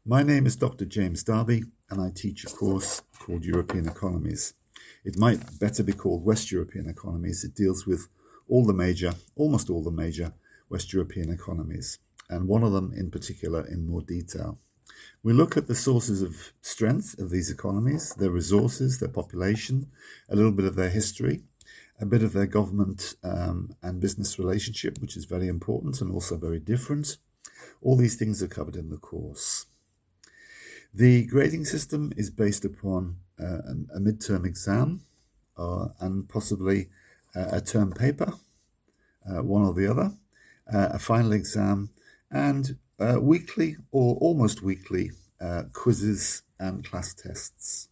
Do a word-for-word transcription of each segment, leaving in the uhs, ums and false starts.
My name is Doctor James Darby, and I teach a course called European Economies. It might better be called West European Economies. It deals with all the major, almost all the major West European economies, and one of them in particular in more detail. We look at the sources of strength of these economies, their resources, their population, a little bit of their history, a bit of their government um, and business relationship, which is very important and also very different. All these things are covered in the course. The grading system is based upon uh, a midterm exam uh, and possibly uh, a term paper, uh, one or the other, uh, a final exam, and uh, weekly or almost weekly uh, quizzes and class tests.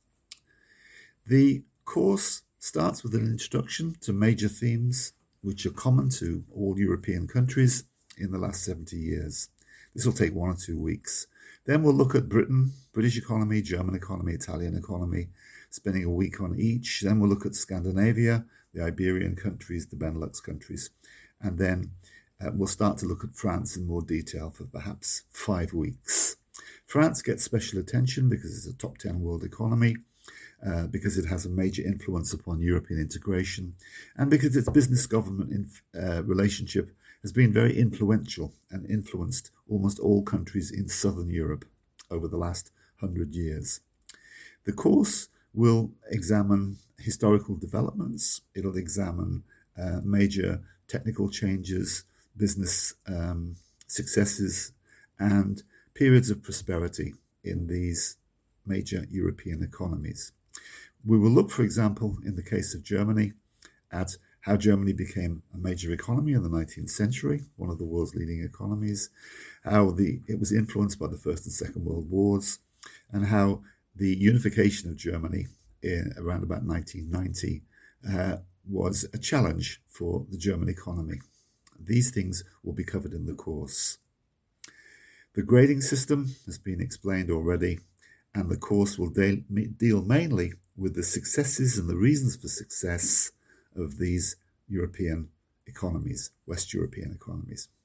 The course starts with an introduction to major themes which are common to all European countries in the last seventy years. This will take one or two weeks. Then we'll look at Britain, British economy, German economy, Italian economy, spending a week on each. Then we'll look at Scandinavia, the Iberian countries, the Benelux countries. And then uh, we'll start to look at France in more detail for perhaps five weeks. France gets special attention because it's a top ten world economy, uh, because it has a major influence upon European integration, and because its business-government inf- uh, relationship has been very influential and influenced almost all countries in southern Europe over the last hundred years. The course will examine historical developments. It'll examine uh, major technical changes, business um, successes, and periods of prosperity in these major European economies. We will look, for example, in the case of Germany, at how Germany became a major economy in the nineteenth century, one of the world's leading economies, how the it was influenced by the First and Second World Wars, and how the unification of Germany in around about nineteen ninety uh, was a challenge for the German economy. These things will be covered in the course. The grading system has been explained already, and the course will de- deal mainly with the successes and the reasons for success of these European economies, West European economies.